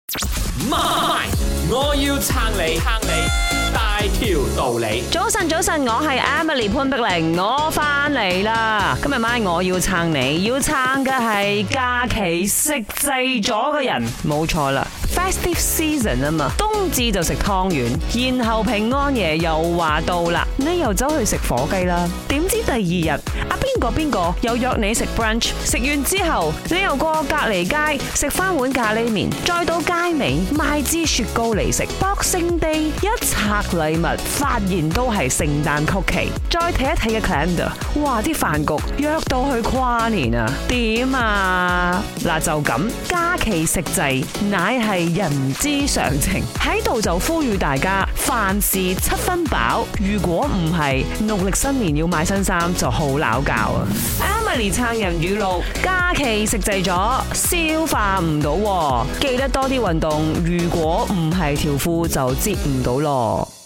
媽，我要撐你，大條道理。 早晨，我係 Emily 潘碧玲，我翻嚟啦。今日晚我要撐你，要撐嘅係假期食滯咗嘅人，冇錯啦。Festive season 啊嘛，冬至就食湯圓，然後平安夜又話到啦，你又走去食火雞啦。點知第二日邊個又約你食 brunch， 食完之後你又過隔離街食翻碗咖喱麵，再到街尾買支雪糕嚟食。Boxing Day 一拆禮物，發現都係聖誕曲奇。再睇一睇嘅 calendar， 哇！啲飯局約到去跨年啊，點啊？嗱就咁，假期食滯乃係人之常情，喺度就呼籲大家凡事7分飽。如果唔係，農曆新年要買新衫就好拗教啊！Emily 撐人語錄：假期食滯咗，消化唔到，記得多啲運動。如果唔係條褲就摺唔到咯。